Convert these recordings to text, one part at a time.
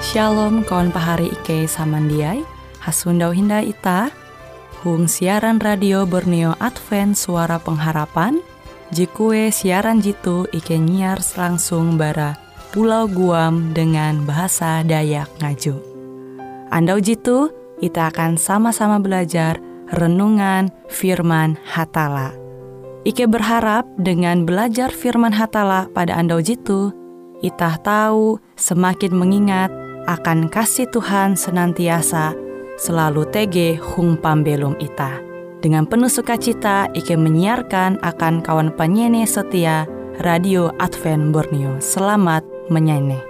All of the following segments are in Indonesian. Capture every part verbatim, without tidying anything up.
Shalom kawan pahari Ike samandiai, hasundau hinda ita, hung siaran radio Borneo Advent Suara Pengharapan, jikue siaran jitu Ike nyiar langsung bara Pulau Guam dengan bahasa Dayak Ngaju. Andau jitu, kita akan sama-sama belajar renungan firman Hatala. Ike berharap dengan belajar firman Hatala pada andau jitu, kita tahu semakin mengingat akan kasih Tuhan senantiasa selalu tege hung pambelum ita. Dengan penuh sukacita, Ike menyiarkan akan kawan penyanyi setia Radio Advent Borneo. Selamat menyanyi.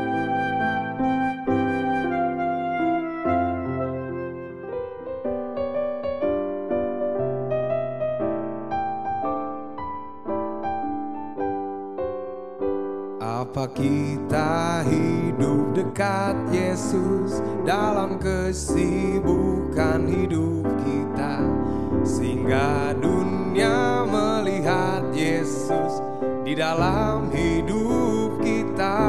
Apa kita hidup dekat Yesus dalam kesibukan hidup kita, sehingga dunia melihat Yesus di dalam hidup kita.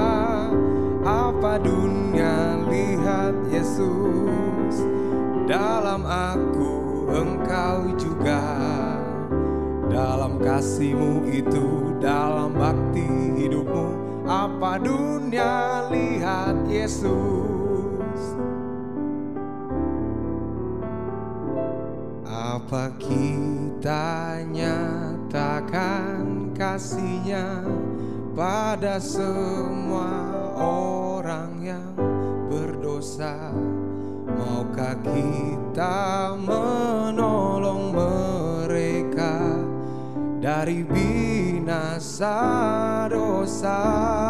Apa dunia lihat Yesus dalam aku, engkau juga. Dalam kasih-Mu itu, dalam bakti hidupmu, apa dunia lihat Yesus. Apa kita nyatakan kasih-Nya pada semua orang yang berdosa? Maukah kita menolong mereka dari binasa dosa?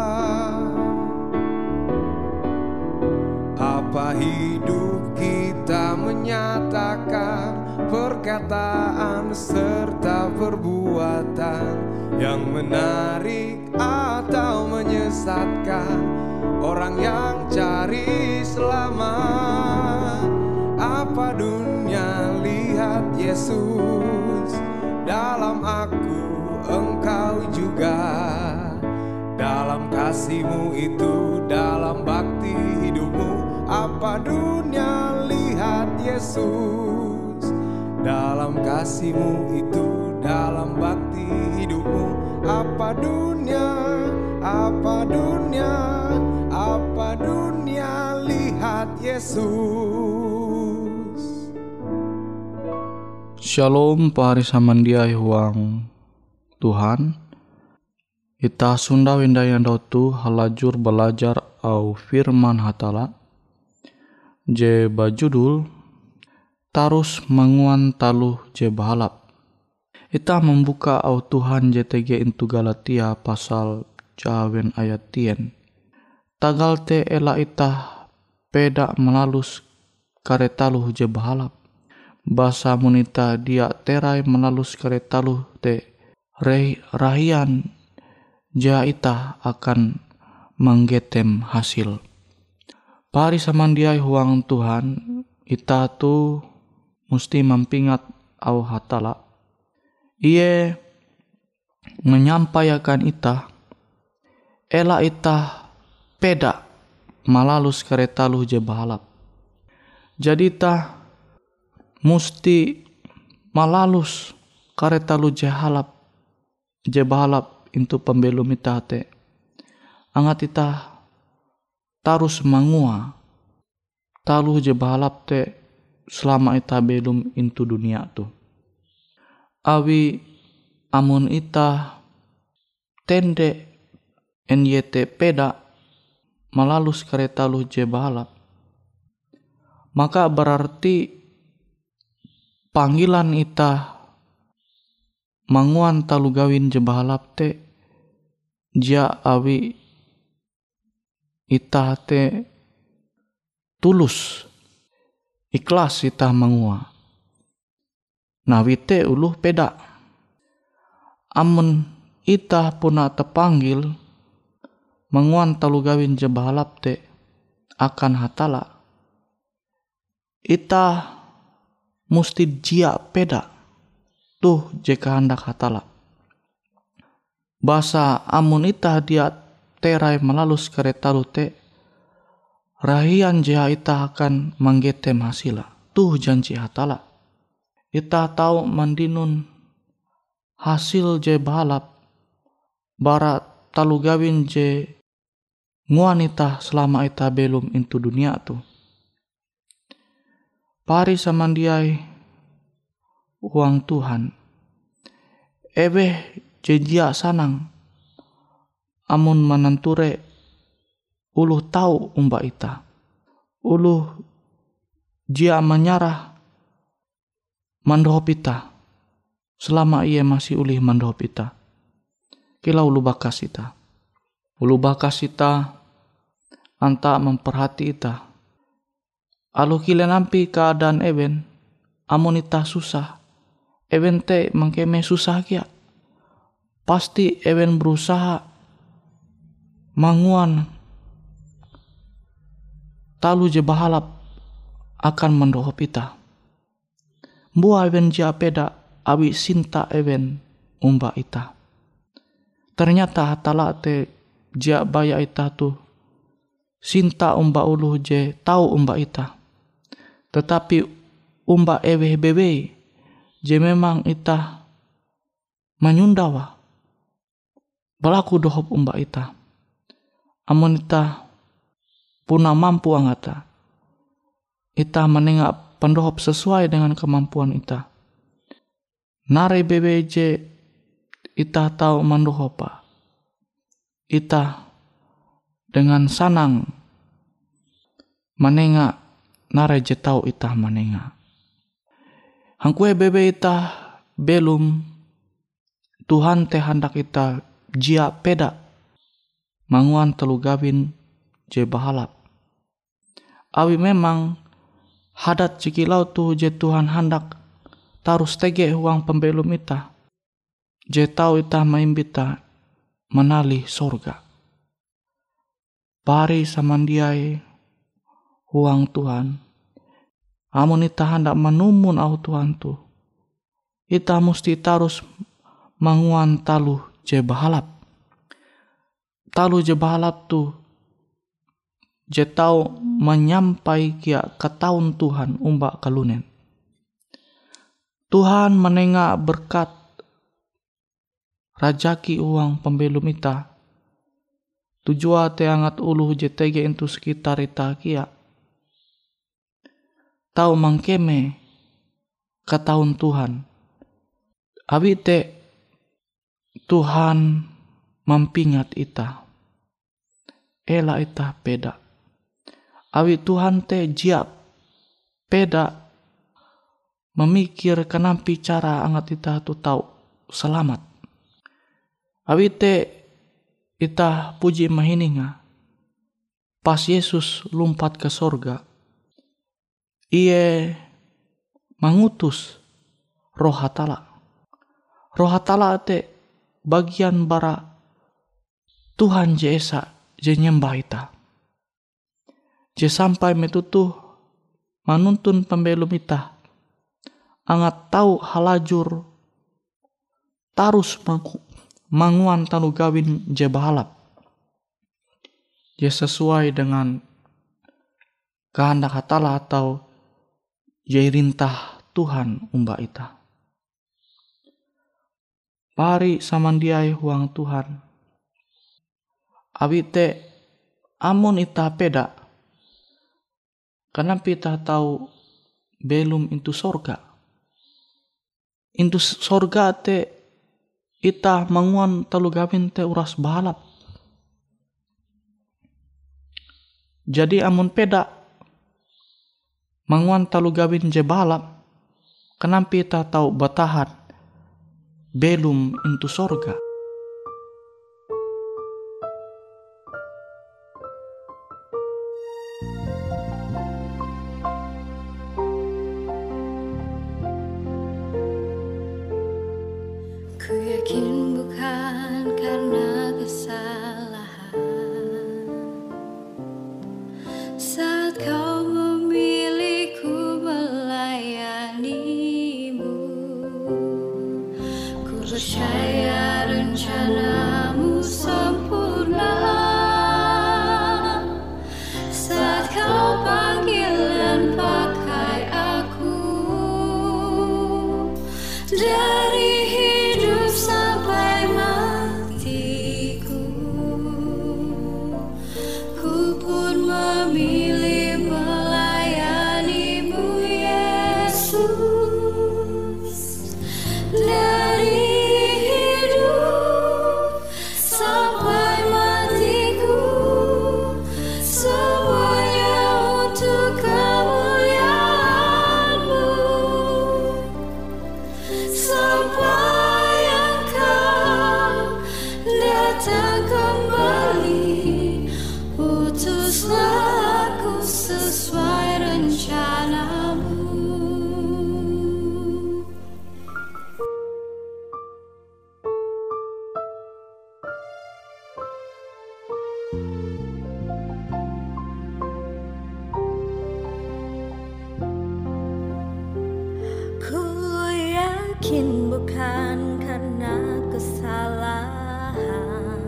Apa hidup kita menyatakan perkataan serta perbuatan yang menarik atau menyesatkan orang yang cari selamat? Apa dunia lihat Yesus dalam aku, engkau juga. Dalam kasih-Mu itu, dalam bakti hidupmu, apa dunia lihat Yesus. Dalam kasih-Mu itu, dalam bakti hidupmu, apa dunia, apa dunia, apa dunia lihat Yesus. Shalom pahari samandiai huang Tuhan. Ita sunda wenda yang tu halajur belajar au firman Hatala. Je bajudul tarus manguan taluh je bahalap. Ita membuka au Tuhan J T G into Galatia pasal jawen ayat tien. Tagal te ela ita peda melalus karetaluh je bahalap. Bahasa munita dia terai melalus karetaluh te rahian ja ita akan menggetem hasil. Pari samandiai huang Tuhan, ita tu mesti mempingat au Hatala. Ie menyampaikan ita ela ita peda melalus karetaluh je bahalap. Jadi ita musti malalus karetaluh je halap je bahalap into pembelum ita te. Angat ita tarus mangua taluh je bahalap te selama ita belum into dunia tu. Awi amun ita tende N Y T peda malalus karetaluh je bahalap, maka berarti panggilan ita manguan talu gawin je bahalap te ja awi ita te tulus ikhlas ita mangua. Nawi te uluh peda. Amun ita puna terpanggil manguan talu gawin je bahalap te akan Hatala, ita musti jia peda tuh je kehendak Hatala. Basa amun ita dia terai melalus kereta te rahian jia ita akan manggetem hasila. Tuh janji hatala. Ita tahu mandinun hasil je balap bara talu gawin je nguan ita selama ita belum into dunia tu. Pari samandiai uang Tuhan. Ebe jejia sanang amun mananture uluh tahu umba ita. Uluh jia menyarah mandohop ita selama ia masih ulih mandohop ita. Kila ulu bakas ita. Ulu bakas ita anta memperhati ita. Alu kile nampi keadaan eben, amun ita susah, eben te mangkeme susah kia. Pasti eben berusaha manguan talu je bahalap akan mendohop ita. Mbua eben jia peda awi sinta eben umba ita. Ternyata hatala te jia baya ita tu sinta umba uluh je tahu umba ita. Tetapi umba eweh bebe je memang ita menyundawa balaku dohop umba ita. Amun ita puna mampu angata, ita menengak pendohop sesuai dengan kemampuan ita. Nare bebe je ita tahu mandohopa. Ita dengan sanang menengak nare je tahu ita menengak. Hangkue bebe ita belum Tuhan te hendak ita jia peda manguan telu gawin je bahalap. Awi memang hadat cikilau tu je Tuhan hendak tarus tege uang pembelum ita. Je tahu ita maimbita menali sorga. Pari samandiai uang Tuhan. Amun ita hendak menumun au Tuhan tu. Ita mesti tarus manguan talu je bahalap. Talu je bahalap tu je tahu menyampai kia ketaun Tuhan umba kalunen. Tuhan menengak berkat rajaki uang pembelum ita. Tujua te angat uluh je tege into sekitar ita kia. Tahu mangkeme ketaun Tuhan. Abi te Tuhan mampingat ita. Ela ita peda. Awi Tuhan te jia peda memikir kenampi cara angat ita tu tahu selamat. Awi te ita puji mahininga. Pas Yesus lumpat ke sorga. Ie mengutus roh hatala. Roh hatala te bagian bara Tuhan je esa je nyembah ita. Je sampai metutuh manuntun pembelum ita. Angat tahu halajur tarus manguan tanu gawin je bahalap. Je sesuai dengan kehendak hatala atau je rintah Tuhan umba ita. Pari samandiai huang Tuhan. Abi te amun ita peda. Kenapa ita tahu belum into sorga. Into sorga te ita manguan talu gawin te uras bahalap. Jadi amun peda manguan talu gawin je bahalap. Kenapa ita tahu batahan belum into sorga. Ku yakin bukan karena kesalahan saat kau memilihku melayanimu. Ku percaya rencanamu sempurna saat dari hidup sampai matiku. Ku pun memilih melayani-Mu Yesus. Dari hidup sampai matiku, semuanya untuk kemuliaan-Mu. Sampai Engkau datang kembali, utuslah aku sesuai rencana-Mu. Ku yakin bukan karena kesalahan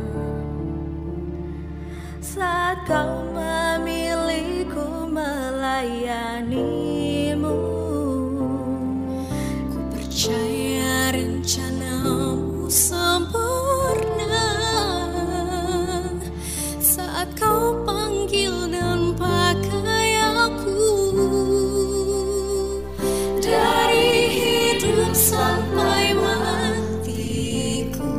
saat Kau memilihku melayani-Mu. Ku percaya rencana-Mu sempurna saat Kau panggil dan pakai aku. Dari hidup sampai matiku,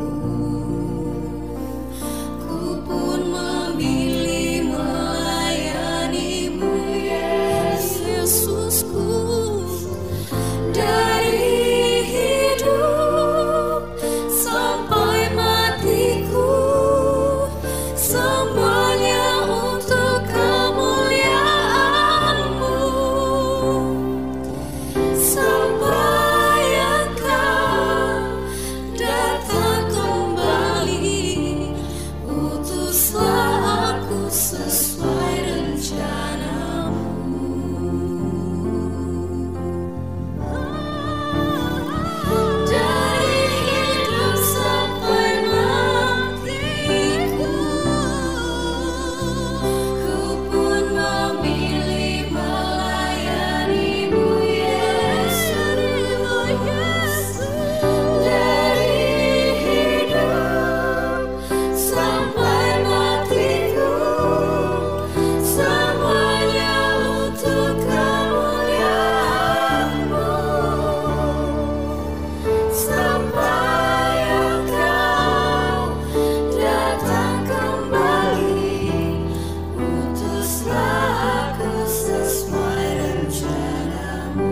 ku pun memilih melayani-Mu Yesusku. Dari hidup sampai matiku, semuanya untuk kemuliaan-Mu. Sampai Engkau datang kembali, utuslah aku sesuai rencana-Mu. Dari hidup sampai matiku, ku pun memilih melayani-Mu Yesus. Dari hidup sampai matiku, semuanya untuk kemuliaan-Mu. Sampai Engkau datang kembali, utuslah aku sesuai rencana-Mu.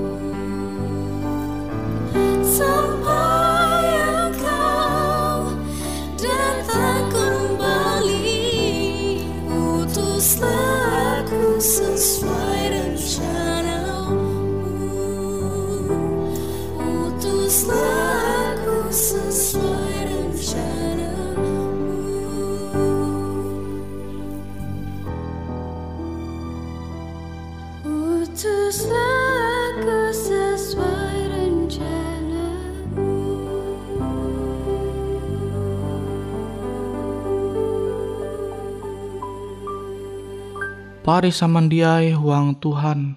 Sampai Engkau datang kembali, utuslah aku sesuai rencana-Mu. Utuslah aku sesuai rencana-Mu. Utuslah aku sesuai rencana-Mu. Pari samandiai huang Tuhan,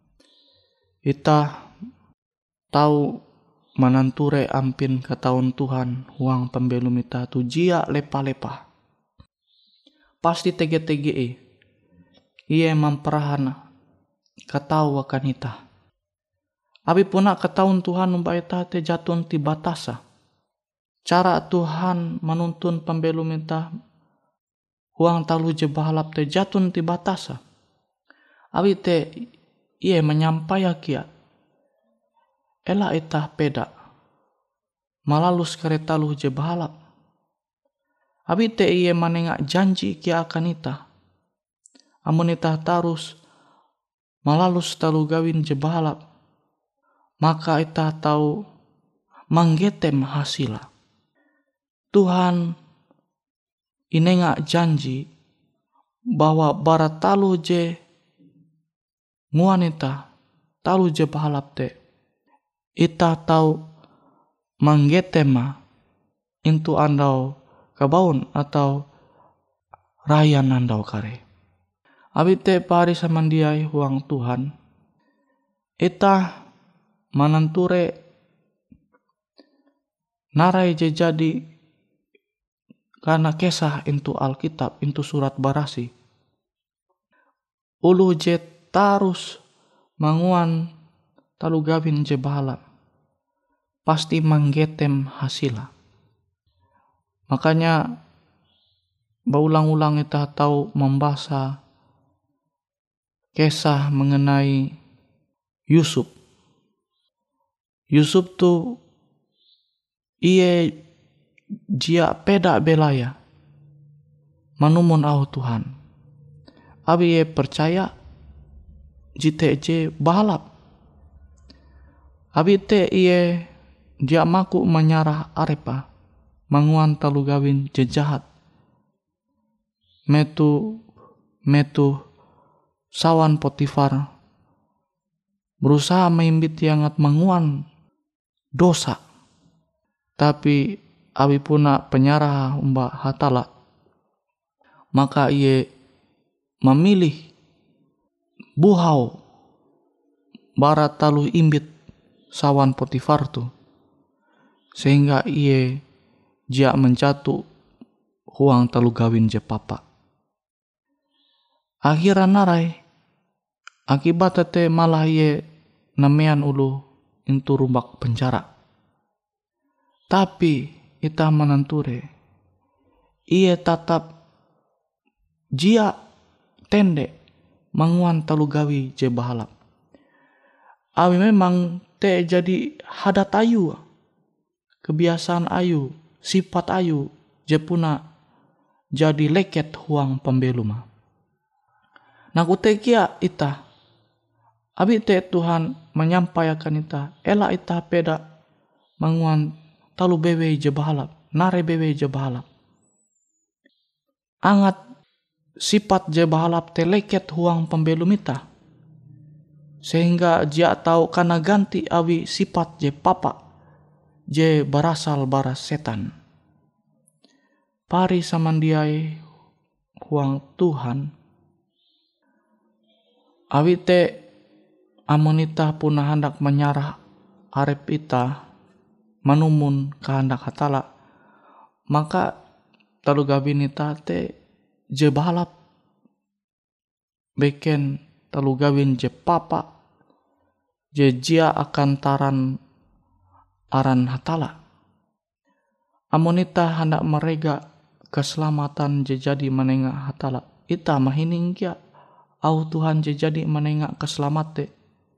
ita tahu mananture ampin ke tahun Tuhan huang pembelum ita tu jia lepa-lepa. Pasti tege-tege e. Ia memperahan katau akan ita. Abi puna ketahun Tuhan umpa ita te jatun ti batasa. Cara Tuhan menuntun pembelum ita huang talu je bahalap te jatun ti batasa. Abi te ia menyampaikan kia. Ela ita peda. Malalus kereta lu je bahalap. Abi te ia manengak janji kia akan ita. Amun ita tarus malalus talu gawin je bahalap. Maka ita tahu manggetem hasila. Tuhan inengak janji bahwa barat talu je nguanita talu je bahalap te. Ita tahu manggetema intu andau kabaun atau raya nandau kare. Abi te pari samandiai huang Tuhan. Ita mananture narai je jadi karena kisah into Alkitab, into surat Barasi. Ulu je tarus manguan talu gawin je bahalap, pasti manggetem hasila. Makanya baulang-ulang kita tahu membaca kisah mengenai Yusuf. Yusuf tu iye jia peda belaya manumun au Tuhan. Abi ye percaya jite je bahalap. Abi te iye dia maku menyarah arepa manguan talu gawin je jahat. Metu metu sawan Potifar berusaha meimbit yangat manguan dosa. Tapi abi puna penyarah umba hatala. Maka iye memilih buhau barat talu imbit sawan Potifar tu. Sehingga iye jia menjatuh huang talu gawin je papa. Akhirnya narai akibat te malah iye namean ulu intu rumbak penjara. Tapi ita menenture iye tatap jia tende manguan talu gawi je bahalap. Awi memang te jadi hadat ayu, kebiasaan ayu, sifat ayu je puna jadi leket huang pembeluma. Nah kutekia ita abi te Tuhan menyampaikan ita ela ita peda manguan talu bewe je bahalap, nare bewe je bahalap. Angat sifat je bahalap te leket huang pembelum ita. Sehingga dia tahu karena ganti awi sifat je papa je berasal baras setan. Pari samandiai huang Tuhan. Awi te amonita puna hendak menyarah arep ita manumun kehendak hatala. Maka talu gawin ita te je bahalap. Beken talu gawin je papa. Je jia akan taran aran hatala. Amonita hendak merega keselamatan je jadi menengah hatala. Ita mahining kia. Au Tuhan je jadi menengak keselamate.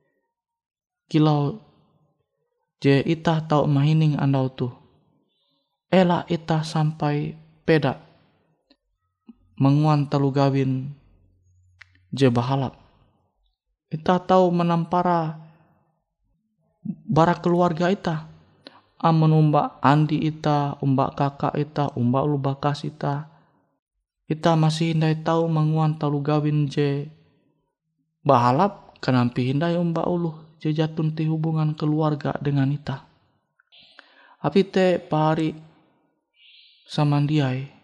Kilau je ita tau mahining andau tu. Ela ita sampai peda menguan talu gawin je bahalap. Ita tau menampara bara keluarga ita. Amun umba andi ita, umba kakak ita, umba ulu bakas ita. Ita masih hindai tahu manguan talu gawin je bahalap kenampi hindai umba ulu je jatun ti hubungan keluarga dengan ita. Api te pari samandiai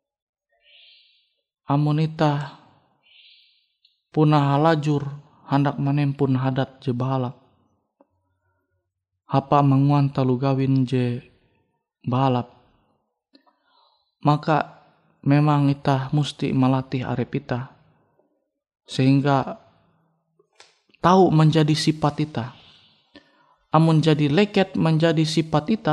amun ita punah halajur hendak menempun hadat je bahalap. Hapa manguan talu gawin je bahalap. Maka memang ita musti melatih arep ita sehingga tahu menjadi sifat ita. Amun jadi leket menjadi sifat ita,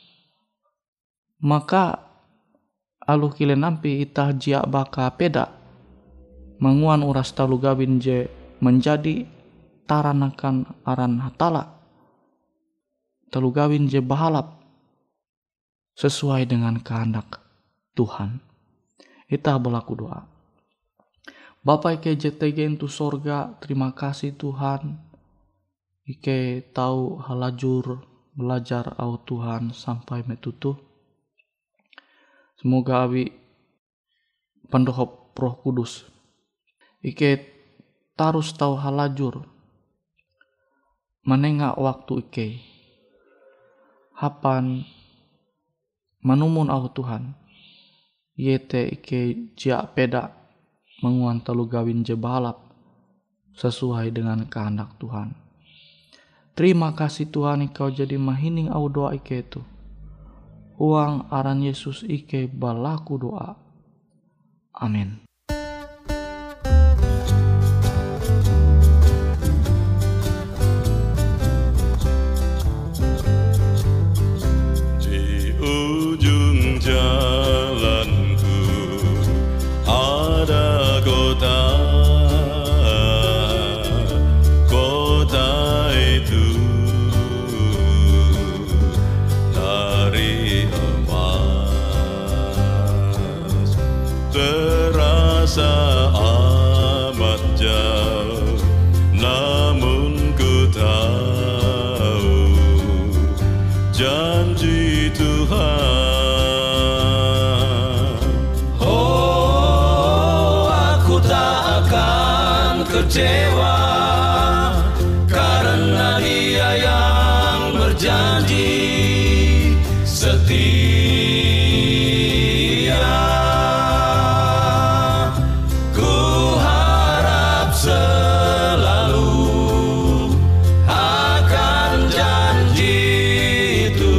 maka aluh kile nampi ita jia baka peda menguan uras talu gawin je menjadi taranakan aran hatala. Talu gawin je bahalap sesuai dengan kehendak Tuhan. Ita berlaku doa. Bapa ike J T G itu sorga, terima kasih Tuhan. Ike tahu halajur belajar au Tuhan sampai metutu. Semoga abi pendohop Roh Kudus. Ike tarus tahu halajur menengak waktu ike. Hapan manumun au Tuhan. Yete ike jia peda menguan talu gawin je bahalap sesuai dengan kehendak Tuhan. Terima kasih Tuhan, Engkau jadi mahining au doa ike itu. Uang aran Yesus ike balaku doa. Amin. Di ujung jalanku ada kota, kota itu dari emas, terasa amat jauh, namun ku tahu janji Tuhan. Oh, aku tak akan kecewa, karena Dia yang berjanji setia. Ku harap selalu akan janji itu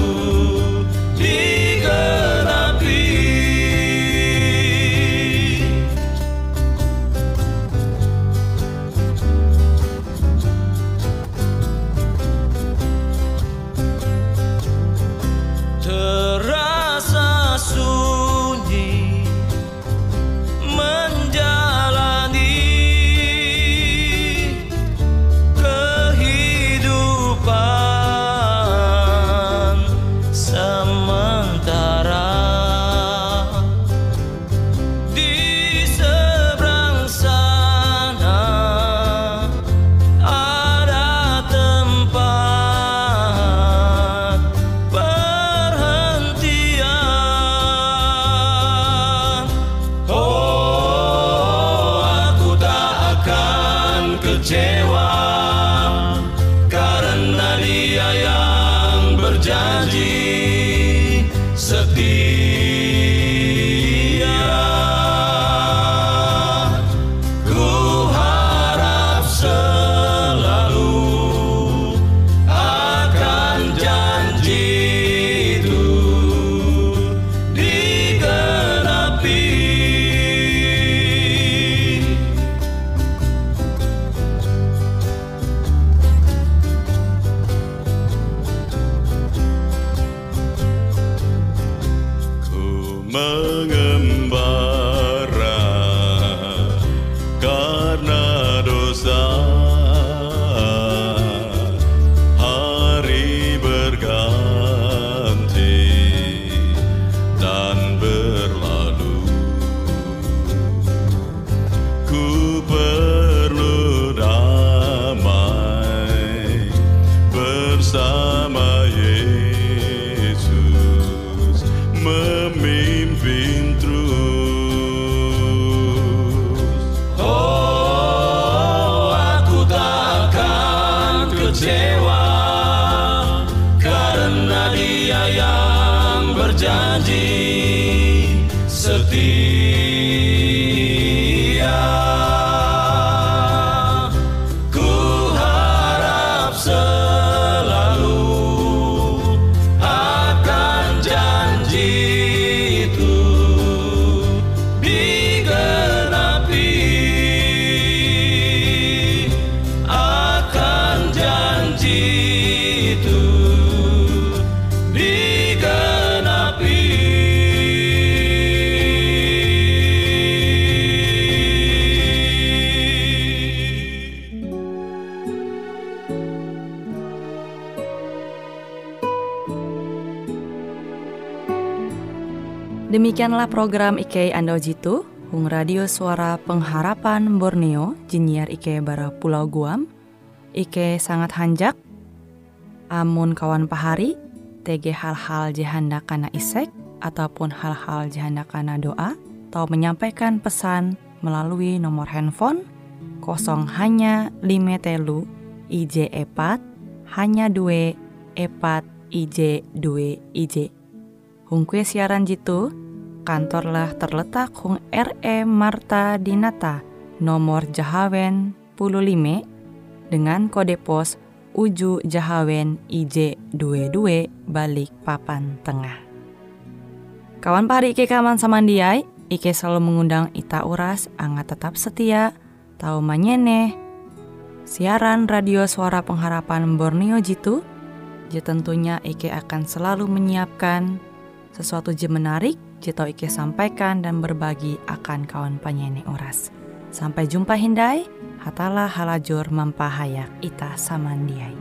digenapi. Terasa sunyi menjalani kehidupan sementara. Di seberang sana ada tempat perhentian. Oh, aku tak akan kecewa, karena Dia yang berjanji setia. Ku harap selalu akan janji itu digenapi. Ku mengembara karena dosa, hari berganti dan berlalu. Ku perlu damai bersama Yesus, memimpin terus. Oh, aku tak akan kecewa, karena Dia yang berjanji setia. Ku harap selalu akan janji itu digenapi. Akan janji itu digenapi. Demikianlah program Ike Ando Jitu, Hung Radio Suara Pengharapan Borneo, Jinnyar Ike bara Pulau Guam. Ike sangat hanjak, amun kawan pahari, tege hal-hal jahanda kana isek, ataupun hal-hal jahanda kana doa, atau menyampaikan pesan melalui nomor handphone kosong hanya lima telu I J epat hanya dua epat I J dua I J. Hung kue siaran jitu, kantorlah terletak Hung R E Marta Dinata, nomor Jahawen puluh lima dengan kode pos Uju Jahawen I J dua dua balik papan tengah. Kawan pari Ike kaman samandiai, Ike selalu mengundang ita uras angga tetap setia, tahu manyene siaran radio Suara Pengharapan Borneo jitu. Je tentunya Ike akan selalu menyiapkan sesuatu je menarik, je tau Ike sampaikan dan berbagi akan kawan penyanyi oras. Sampai jumpa hindai, hatalah halajur mampahayak ita samandiai.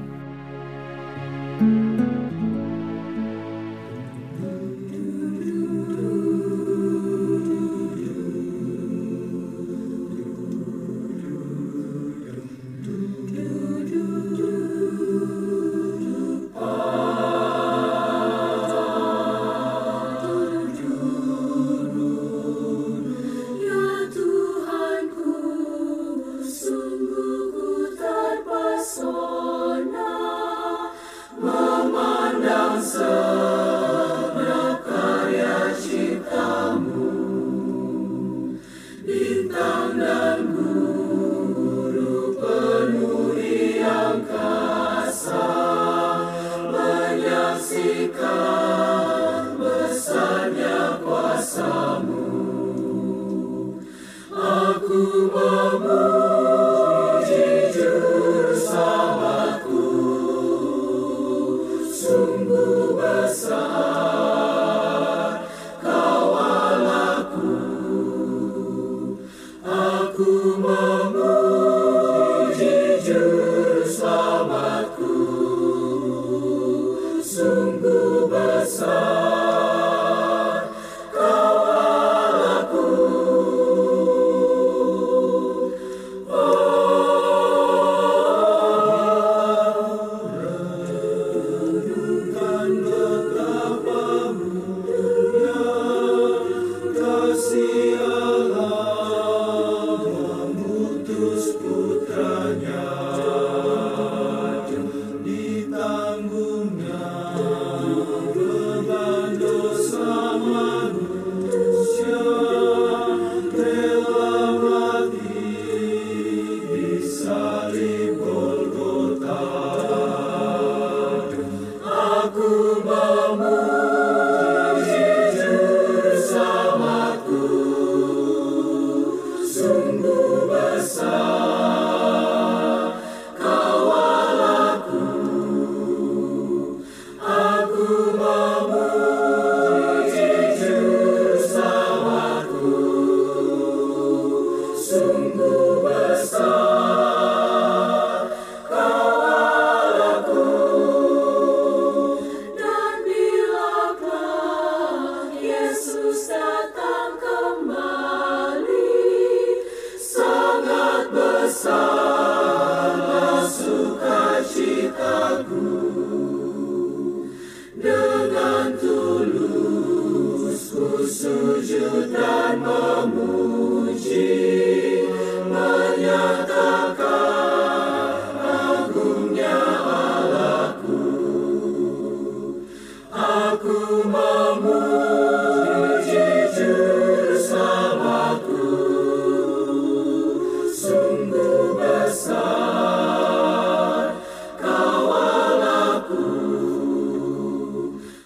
Aku memuji